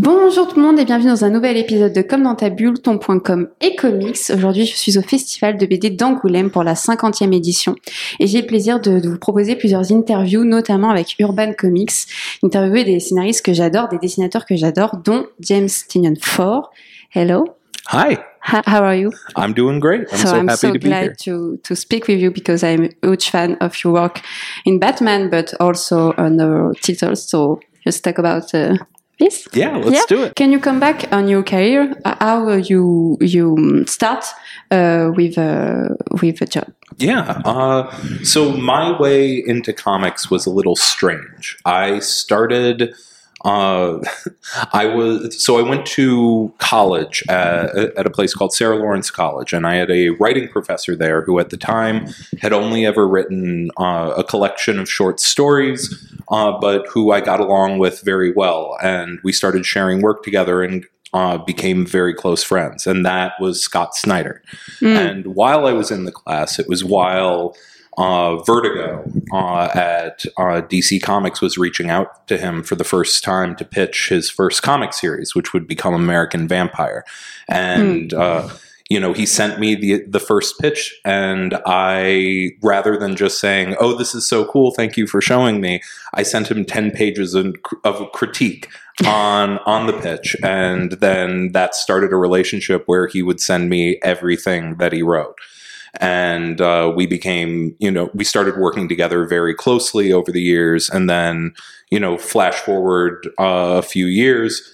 Bonjour tout le monde et bienvenue dans un nouvel épisode de Comme dans ta bulle, ton point com et comics. Aujourd'hui, je suis au Festival de BD d'Angoulême pour la 50e édition et j'ai le plaisir de vous proposer plusieurs interviews, notamment avec Urban Comics, interviewer des scénaristes que j'adore, des dessinateurs que j'adore, dont James Tynion Ford. Hello. Hi. How are you? I'm doing great. I'm happy to be here. to speak with you because I'm a huge fan of your work in Batman, but also other titles. So just talk about this. Yeah, let's do it. Can you come back on your career? How you start with a job? Yeah. So my way into comics was a little strange. I started. I went to college at a place called Sarah Lawrence College, and I had a writing professor there who at the time had only ever written a collection of short stories, but who I got along with very well. And we started sharing work together and became very close friends. And that was Scott Snyder. And while I was in the class, it was while Vertigo at DC Comics was reaching out to him for the first time to pitch his first comic series, which would become American Vampire. And, he sent me the first pitch, and I, rather than just saying, "Oh, this is so cool, thank you for showing me," I sent him 10 pages of critique on the pitch. And then that started a relationship where he would send me everything that he wrote. And we became, we started working together very closely over the years. And then, flash forward a few years,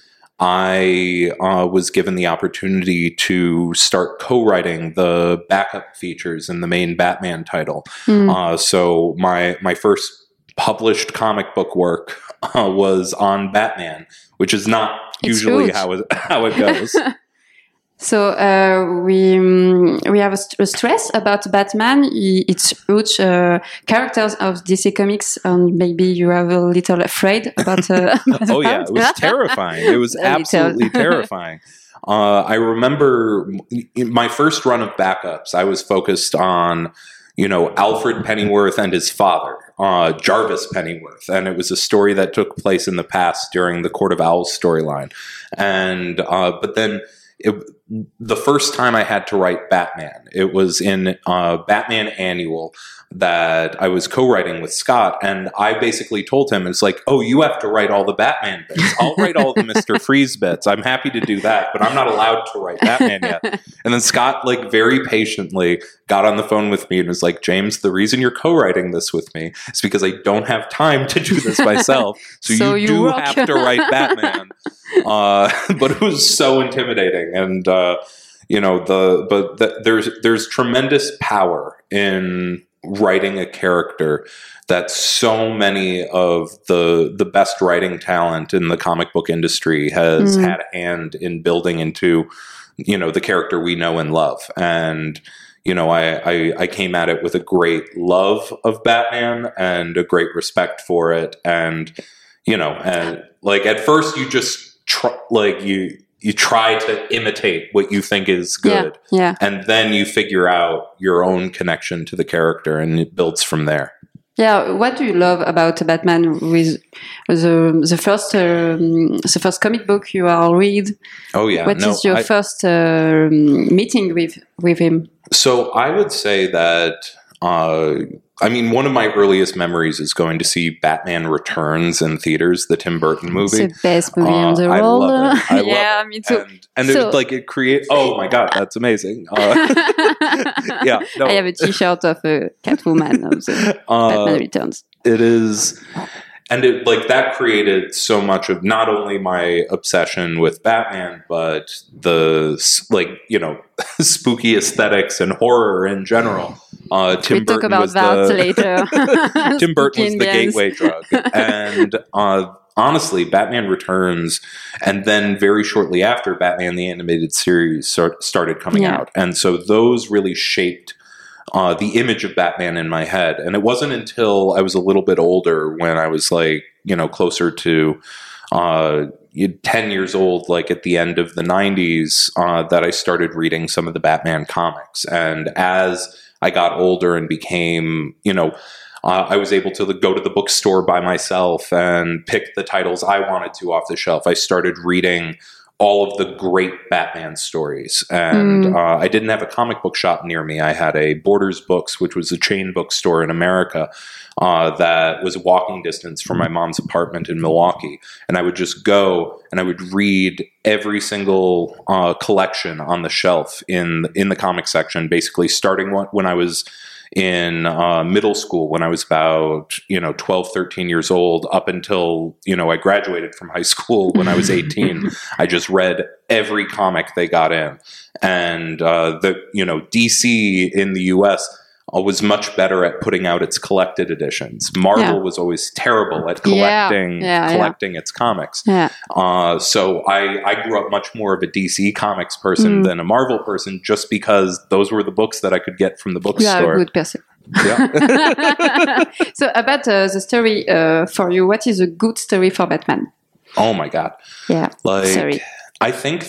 I was given the opportunity to start co-writing the backup features in the main Batman title. So my first published comic book work was on Batman, which is not usually how it goes. So we have a stress about Batman. It's huge characters of DC Comics, and maybe you are a little afraid about. Oh yeah, it was terrifying. It was absolutely terrifying. I remember my first run of backups. I was focused on Alfred Pennyworth and his father, Jarvis Pennyworth, and it was a story that took place in the past during the Court of Owls storyline, and but then. The first time I had to write Batman, it was in Batman Annual that I was co-writing with Scott, and I basically told him, it's like, "Oh, you have to write all the Batman bits. I'll write all the Mr. Freeze bits. I'm happy to do that, but I'm not allowed to write Batman yet." And then Scott, very patiently got on the phone with me and was like, "James, the reason you're co-writing this with me is because I don't have time to do this myself. So you do have to write Batman." But it was so intimidating, and there's tremendous power in writing a character that so many of the best writing talent in the comic book industry has had a hand in building into, the character we know and love. And, I came at it with a great love of Batman and a great respect for it. And, at first you just you try to imitate what you think is good. Yeah. And then you figure out your own connection to the character, and it builds from there. Yeah. What do you love about Batman with the first comic book you all read? Oh, yeah. What is your first meeting with him? So I would say that, one of my earliest memories is going to see Batman Returns in theaters, the Tim Burton movie. It's the best movie in the world. I love it. Yeah, me too. And it creates. Oh my God, that's amazing. Yeah, no. I have a T-shirt of Catwoman of the Batman Returns. It is. And that created so much of not only my obsession with Batman, but the spooky aesthetics and horror in general. Tim Burton was later. Tim Burton was the gateway drug, and honestly, Batman Returns, and then very shortly after, Batman the Animated Series started coming out, and so those really shaped the image of Batman in my head. And it wasn't until I was a little bit older, when I was closer to 10 years old, at the end of the 90s, that I started reading some of the Batman comics. And as I got older and became, I was able to go to the bookstore by myself and pick the titles I wanted to off the shelf. I started reading all of the great Batman stories. And I didn't have a comic book shop near me. I had a Borders Books, which was a chain bookstore in America that was walking distance from my mom's apartment in Milwaukee. And I would just go and I would read every single collection on the shelf in the comic section, basically starting when I was in middle school, when I was about 12, 13 years old, up until I graduated from high school when I was 18. I just read every comic they got in, and DC in the US was much better at putting out its collected editions. Marvel was always terrible at collecting its comics. So I grew up much more of a DC Comics person than a Marvel person, just because those were the books that I could get from the bookstore. You are a good person. Yeah. So about the story for you, what is a good story for Batman? Oh my God. Yeah. Sorry. I think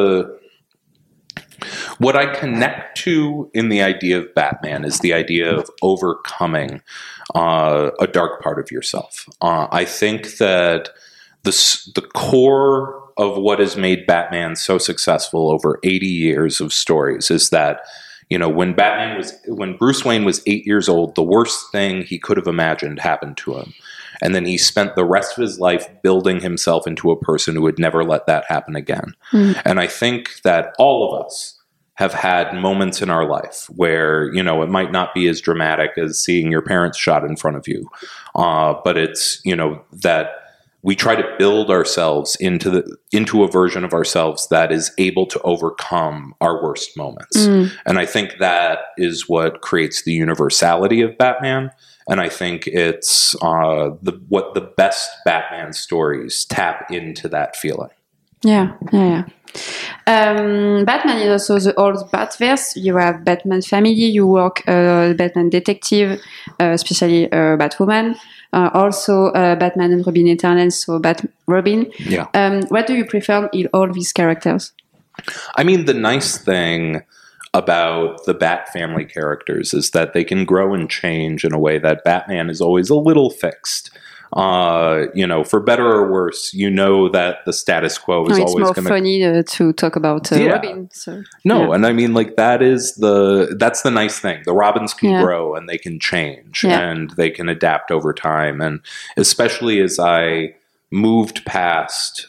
what I connect to in the idea of Batman is the idea of overcoming a dark part of yourself. I think that the core of what has made Batman so successful over 80 years of stories is that when Bruce Wayne was 8 years old, the worst thing he could have imagined happened to him. And then he spent the rest of his life building himself into a person who would never let that happen again. And I think that all of us have had moments in our life where, it might not be as dramatic as seeing your parents shot in front of you. But it's, that we try to build ourselves into a version of ourselves that is able to overcome our worst moments. And I think that is what creates the universality of Batman. And I think it's what the best Batman stories tap into that feeling. Yeah. Batman is also the old Batverse. You have Batman family. You work Batman detective, especially Batwoman. Also Batman and Robin Eternal, so Robin. Yeah. What do you prefer in all these characters? I mean, the nice thing about the Bat family characters is that they can grow and change in a way that Batman is always a little fixed. For better or worse, that the status quo is always going to... It's more funny to talk about Robin. So, and I mean, that's the nice thing. The Robins can grow and they can change and they can adapt over time. And especially as I moved past,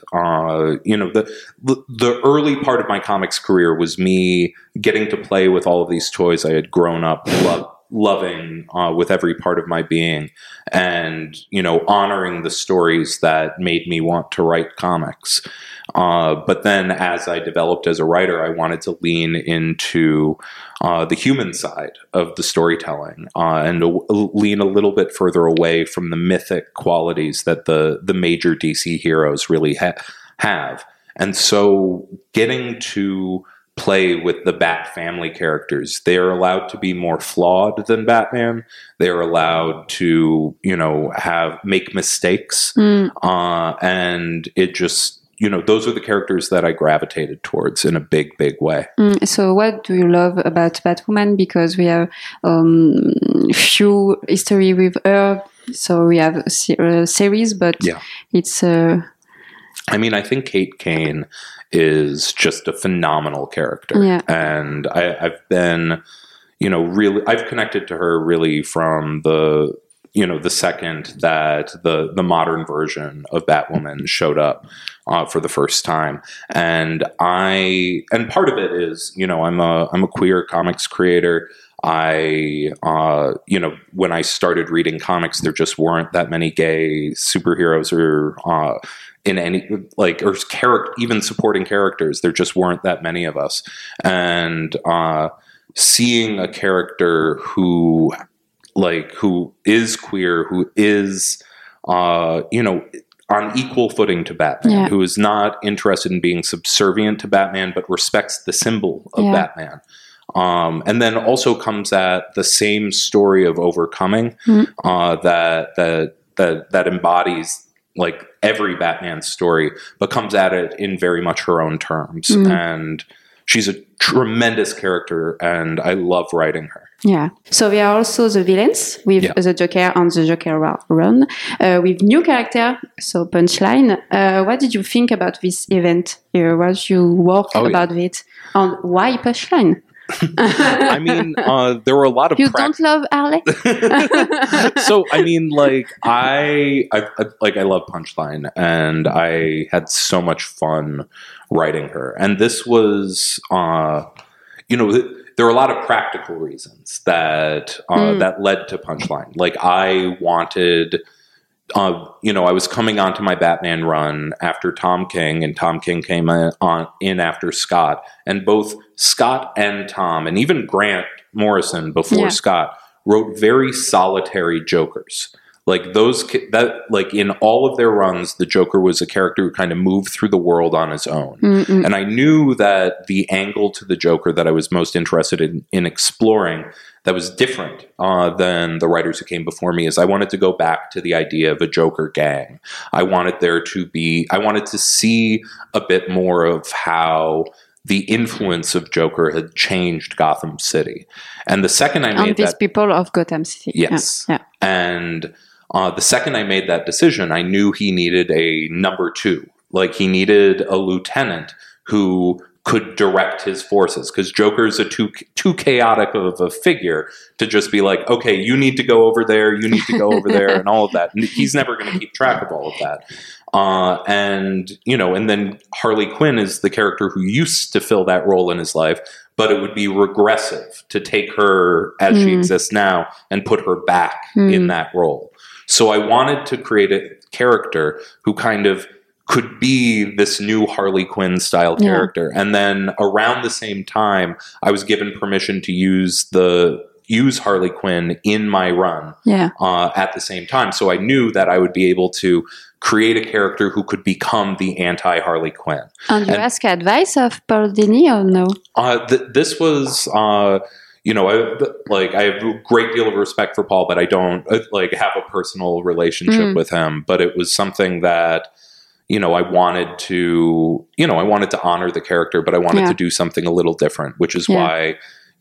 the early part of my comics career was me getting to play with all of these toys I had grown up loving with every part of my being, and honoring the stories that made me want to write comics. But then as I developed as a writer, I wanted to lean into the human side of the storytelling and lean a little bit further away from the mythic qualities that the major DC heroes really have. And so getting to play with the Bat family characters, they are allowed to be more flawed than Batman. They are allowed to, make mistakes. And it just, those are the characters that I gravitated towards in a big, big way. So what do you love about Batwoman? Because we have few history with her. So we have a series, but it's... I mean, I think Kate Kane is just a phenomenal character. And I've been, I've connected to her really from the second that the modern version of Batwoman showed up for the first time. And part of it is, I'm a queer comics creator. When I started reading comics, there just weren't that many gay superheroes or in any even supporting characters. There just weren't that many of us, and seeing a character who is queer, who is on equal footing to Batman, who is not interested in being subservient to Batman, but respects the symbol of Batman. And then also comes at the same story of overcoming that embodies every Batman story, but comes at it in very much her own terms. And she's a tremendous character, and I love writing her. Yeah. So we are also the villains with the Joker on the Joker run with new character. So Punchline. What did you think about this event? What you work about it? And why Punchline? I mean, there were a lot of you don't love Harley. So I mean, like I love Punchline, and I had so much fun writing her. And this was, there were a lot of practical reasons that that led to Punchline. Like I wanted. I was coming onto my Batman run after Tom King, and Tom King came in after Scott, and both Scott and Tom, and even Grant Morrison before Scott, wrote very solitary Jokers. Like in all of their runs, the Joker was a character who kind of moved through the world on his own. Mm-mm. And I knew that the angle to the Joker that I was most interested in exploring that was different than the writers who came before me is I wanted to go back to the idea of a Joker gang. I wanted to see a bit more of how the influence of Joker had changed Gotham City. And the second I made these people of Gotham City. Yes. Yeah. And the second I made that decision, I knew he needed a number two. Like he needed a lieutenant who could direct his forces, because Joker's a too chaotic of a figure to just be like, okay, you need to go over there, you need to go over there, and all of that. And he's never going to keep track of all of that. And then Harley Quinn is the character who used to fill that role in his life, but it would be regressive to take her as she exists now and put her back in that role. So I wanted to create a character who kind of could be this new Harley Quinn style character. And then around the same time, I was given permission to use Harley Quinn in my run at the same time. So I knew that I would be able to create a character who could become the anti-Harley Quinn. And you ask advice of Paul Dini or no? This was... I have a great deal of respect for Paul, but I don't have a personal relationship with him. But it was something that, I wanted to honor the character, but I wanted to do something a little different, which is why,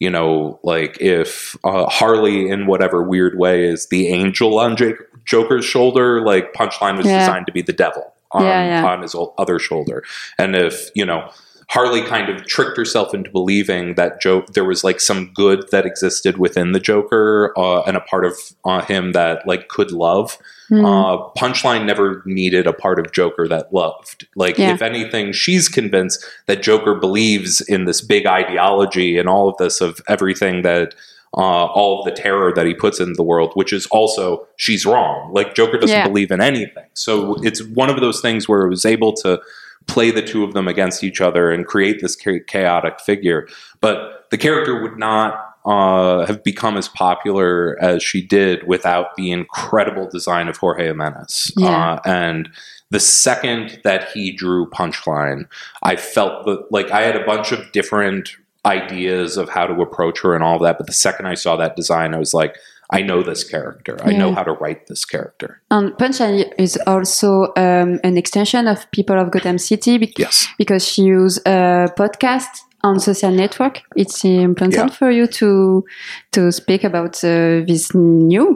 if Harley in whatever weird way is the angel on Joker's shoulder, like Punchline was designed to be the devil on his other shoulder. And if, Harley kind of tricked herself into believing that there was like some good that existed within the Joker and a part of him that like could love. Punchline never needed a part of Joker that loved. If anything, she's convinced that Joker believes in this big ideology and all of this of everything that all of the terror that he puts into the world, which is also, she's wrong. Like Joker doesn't believe in anything. So it's one of those things where it was able to play the two of them against each other and create this chaotic figure. But the character would not have become as popular as she did without the incredible design of Jorge Jimenez. And the second that he drew Punchline, I felt that I had a bunch of different ideas of how to approach her and all that. But the second I saw that design, I was like, I know this character. I know how to write this character. And Punchline is also an extension of People of Gotham City because she uses a podcast on social network. It's important for you to speak about this new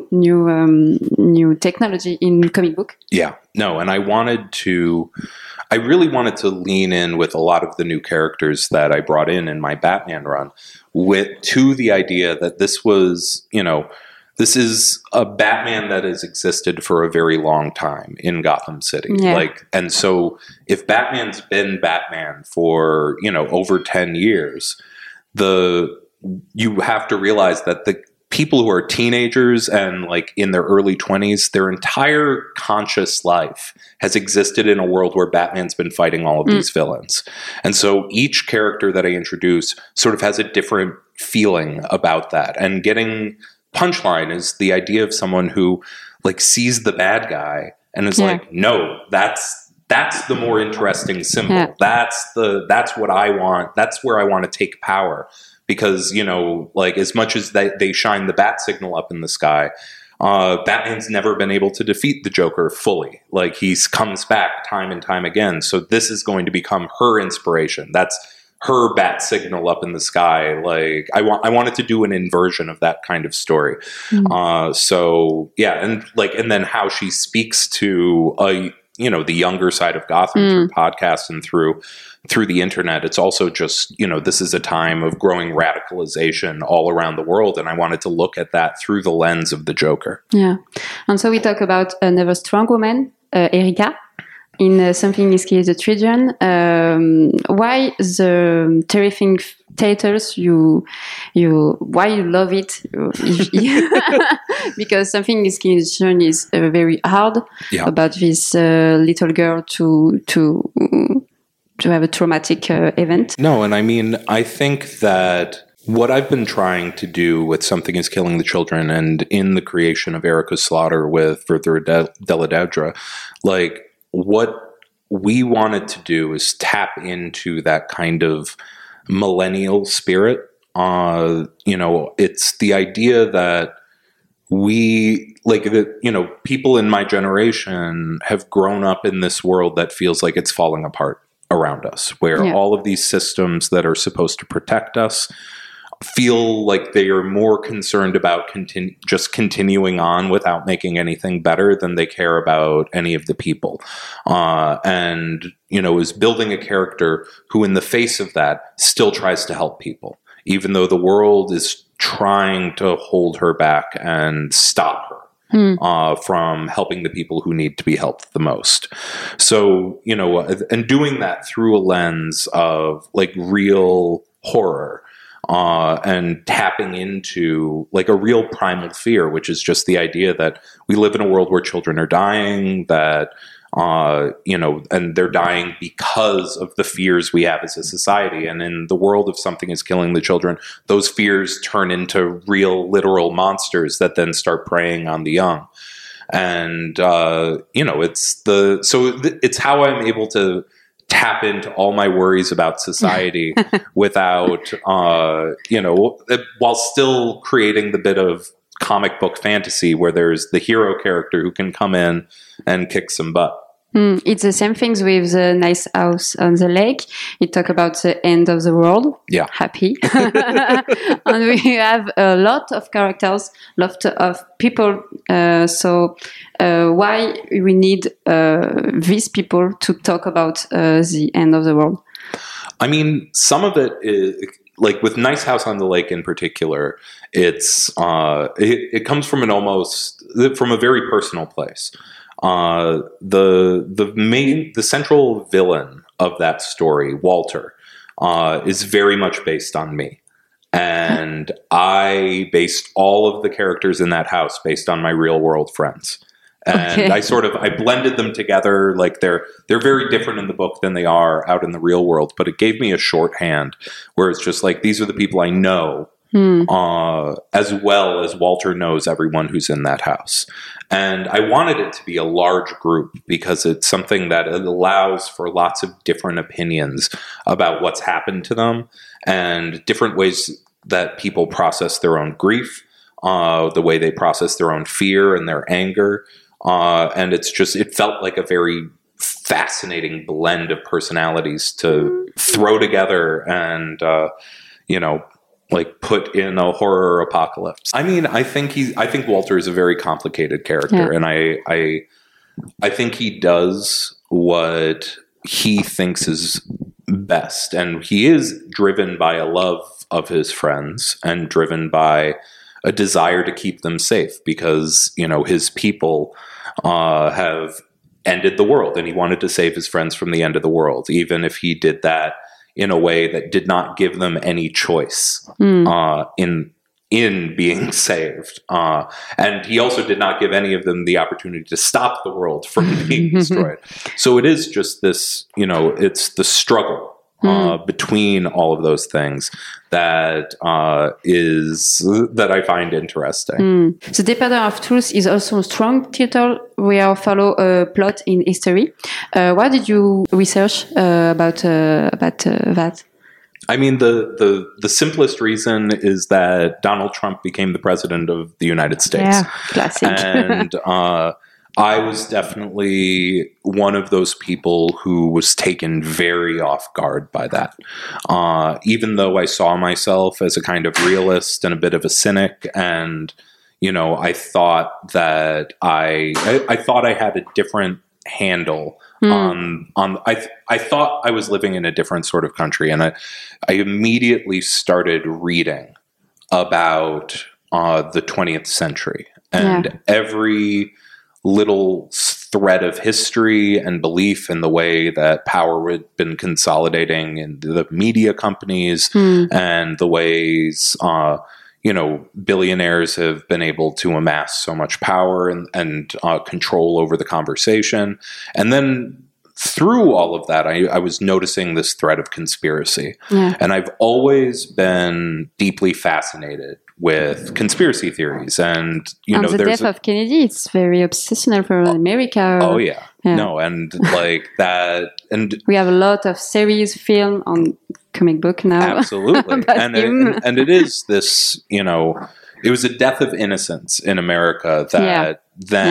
technology in comic book. Yeah, no, and I really wanted to lean in with a lot of the new characters that I brought in my Batman run to the idea that this was, this is a Batman that has existed for a very long time in Gotham City. And so if Batman's been Batman for, over 10 years, you have to realize that the people who are teenagers and in their early 20s, their entire conscious life has existed in a world where Batman's been fighting all of these villains. And so each character that I introduce sort of has a different feeling about that. And getting Punchline is the idea of someone who sees the bad guy and is no, that's the more interesting symbol. That's what I want. That's where I want to take power. Because, as much as they shine the bat signal up in the sky, Batman's never been able to defeat the Joker fully. He comes back time and time again. So this is going to become her inspiration. That's her bat signal up in the sky. Like I wanted to do an inversion of that kind of story. So yeah, and then how she speaks to the younger side of Gotham through podcasts and through the internet. It's also just, this is a time of growing radicalization all around the world. And I wanted to look at that through the lens of the Joker. Yeah. And so we talk about another strong woman, Erika, in Something is Killing the Children. Why the terrifying titles? Why you love it? Because Something is Killing the Children is very hard about this little girl to have a traumatic event. No, and I mean, I think that what I've been trying to do with Something is Killing the Children and in the creation of Erika Slaughter with Further Della like what we wanted to do is tap into that kind of millennial spirit. It's the idea that people in my generation have grown up in this world that feels like it's falling apart around us, where all of these systems that are supposed to protect us feel like they are more concerned about just continuing on without making anything better than they care about any of the people. Is building a character who in the face of that still tries to help people, even though the world is trying to hold her back and stop her from helping the people who need to be helped the most. So, and doing that through a lens of like real horror, and tapping into like a real primal fear, which is just the idea that we live in a world where children are dying, that, and they're dying because of the fears we have as a society. And in the world of Something is Killing the Children, those fears turn into real, literal monsters that then start preying on the young. And, it's how I'm able to tap into all my worries about society without, while still creating the bit of comic book fantasy where there's the hero character who can come in and kick some butt. It's the same things with the Nice House on the Lake. It talk about the end of the world. Yeah. Happy. And we have a lot of characters, lot of people. So why we need these people to talk about the end of the world? I mean, some of it is... Like with Nice House on the Lake in particular, it's it comes from from a very personal place. The central villain of that story, Walter, is very much based on me. And I based all of the characters in that house based on my real world friends. And I blended them together. Like they're very different in the book than they are out in the real world, but it gave me a shorthand where it's just like, these are the people I know, as well as Walter knows everyone who's in that house. And I wanted it to be a large group because it's something that allows for lots of different opinions about what's happened to them and different ways that people process their own grief, the way they process their own fear and their anger. And it felt like a very fascinating blend of personalities to throw together and, like put in a horror apocalypse. I mean, I think Walter is a very complicated character, and I think he does what he thinks is best, and he is driven by a love of his friends and driven by a desire to keep them safe because, his people have ended the world and he wanted to save his friends from the end of the world, even if he did that in a way that did not give them any choice in being saved. And he also did not give any of them the opportunity to stop the world from being destroyed. So it is just this, it's the struggle between all of those things that I find interesting. The Department of Truth is also a strong title. We follow a plot in history. What did you research about that? I mean, the simplest reason is that Donald Trump became the president of the United States. Yeah, classic. And I was definitely one of those people who was taken very off guard by that. Even though I saw myself as a kind of realist and a bit of a cynic, and I thought that I thought I had a different handle on. I thought I was living in a different sort of country, and I immediately started reading about the 20th century and every little thread of history and belief in the way that power had been consolidating in the media companies and the ways billionaires have been able to amass so much power and control over the conversation. And then through all of that, I was noticing this thread of conspiracy. And I've always been deeply fascinated with conspiracy theories. And, the death of Kennedy, it's very obsessional for America. Oh, yeah. No, and like that. And we have a lot of series, film on comic book now. Absolutely. and it is this, it was a death of innocence in America that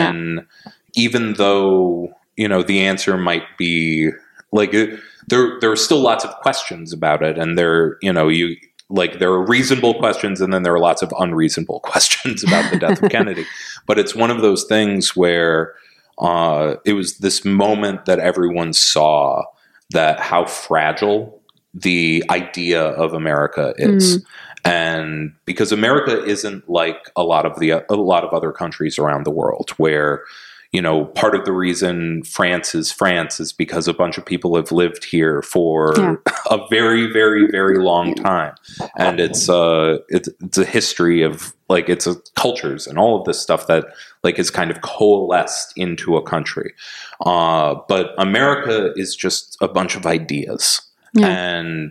even though, the answer might be like, there are still lots of questions about it. And there are reasonable questions, and then there are lots of unreasonable questions about the death of Kennedy. But it's one of those things where it was this moment that everyone saw that how fragile the idea of America is. And because America isn't like a lot of other countries around the world where, part of the reason France is because a bunch of people have lived here for a very, very, very long time. And it's a history of it's cultures and all of this stuff that is kind of coalesced into a country. But America is just a bunch of ideas. And,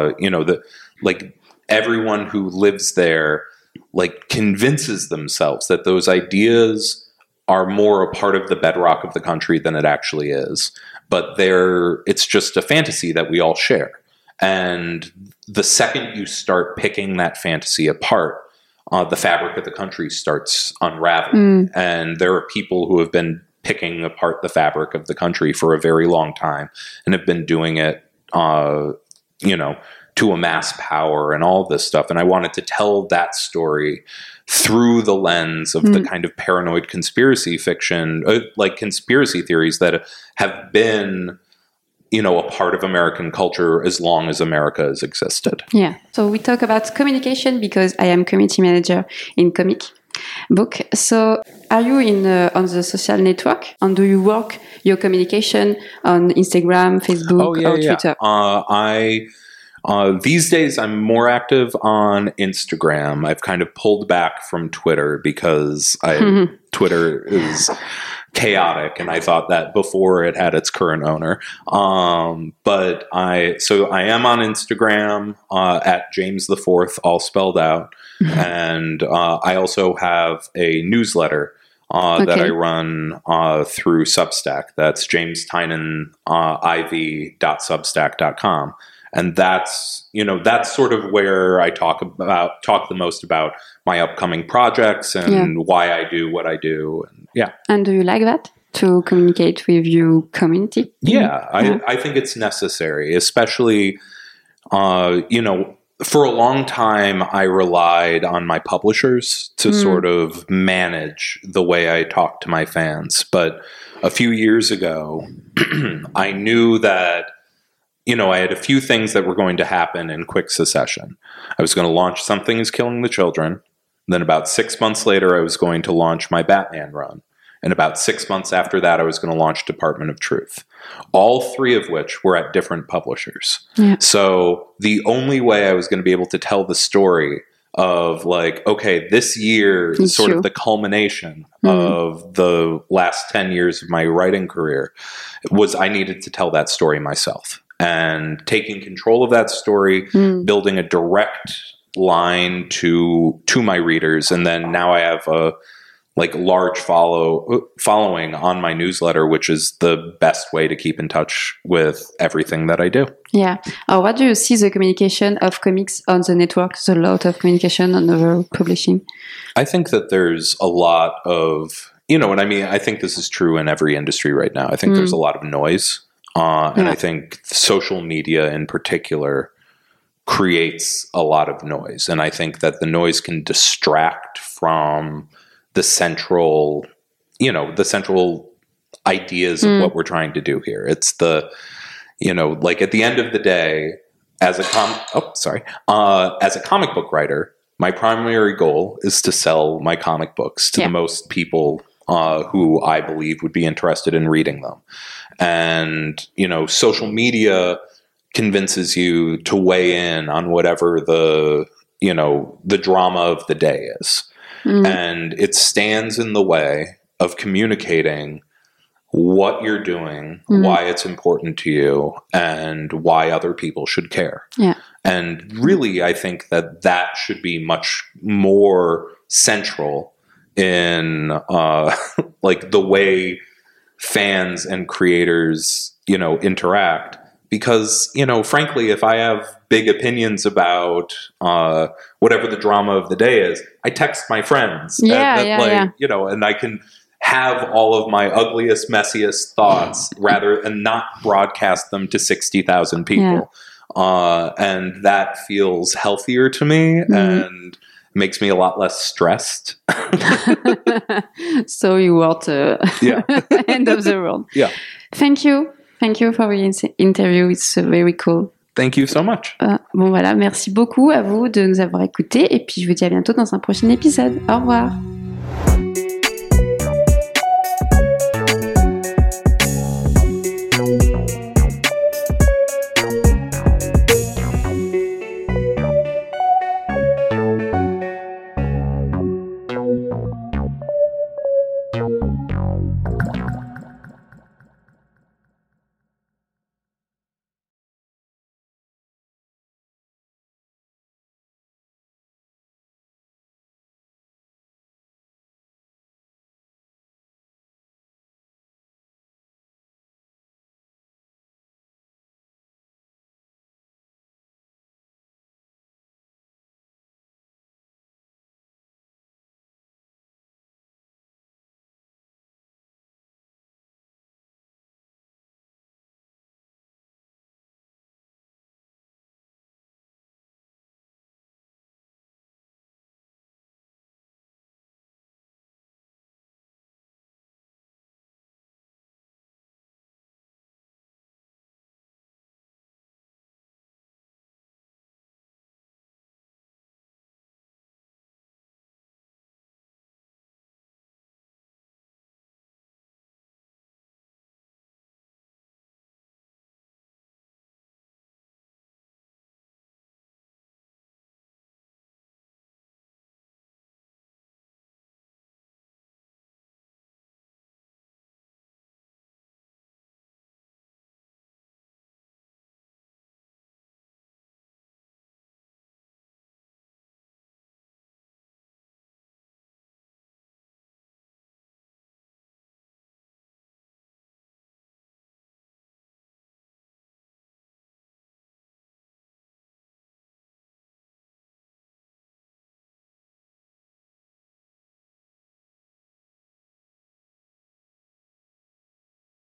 everyone who lives there, convinces themselves that those ideas are more a part of the bedrock of the country than it actually is. But it's just a fantasy that we all share. And the second you start picking that fantasy apart, the fabric of the country starts unraveling. And there are people who have been picking apart the fabric of the country for a very long time and have been doing it, to amass power and all this stuff. And I wanted to tell that story through the lens of the kind of paranoid conspiracy fiction, conspiracy theories that have been, a part of American culture as long as America has existed. Yeah. So we talk about communication because I am community manager in comic book. So are you on the social network, and do you work your communication on Instagram, Facebook, or Twitter? These days, I'm more active on Instagram. I've kind of pulled back from Twitter because Twitter is chaotic, and I thought that before it had its current owner. But I am on Instagram at James the Fourth, all spelled out, and I also have a newsletter that I run through Substack. That's jamestynaniv.substack.com. And that's sort of where I talk the most about my upcoming projects and why I do what I do. And And do you like that, to communicate with your community? Yeah, I think it's necessary, especially, for a long time, I relied on my publishers to sort of manage the way I talk to my fans. But a few years ago, I knew that I had a few things that were going to happen in quick succession. I was going to launch Something is Killing the Children. Then about 6 months later, I was going to launch my Batman run. And about 6 months after that, I was going to launch Department of Truth. All three of which were at different publishers. Yeah. So the only way I was going to be able to tell the story of this year is sort of the culmination of the last 10 years of my writing career was I needed to tell that story myself. And taking control of that story, building a direct line to my readers, and then now I have a large following on my newsletter, which is the best way to keep in touch with everything that I do. Yeah. What do you see the communication of comics on the network? There's a lot of communication on over publishing. I think that there's a lot of you know, and I mean, I think this is true in every industry right now. I think there's a lot of noise. And I think social media in particular creates a lot of noise. And I think that the noise can distract from the central, you know, the central ideas of what we're trying to do here. It's the, you know, like at the end of the day, as a comic book writer, my primary goal is to sell my comic books to the most people who I believe would be interested in reading them. And, you know, social media convinces you to weigh in on whatever the, you know, the drama of the day is. And it stands in the way of communicating what you're doing, why it's important to you, and why other people should care. Yeah. And really, I think that that should be much more central in like the way fans and creators, you know, interact. Because, you know, frankly, if I have big opinions about whatever the drama of the day is, I text my friends. You know, and I can have all of my ugliest, messiest thoughts rather than not broadcast them to 60,000 people. And that feels healthier to me and makes me a lot less stressed. So you want end of the world. Yeah. Thank you. Thank you for the interview. It's very cool. Thank you so much. Bon voilà, merci beaucoup à vous de nous avoir écoutés et puis je vous dis à bientôt dans un prochain épisode. Au revoir.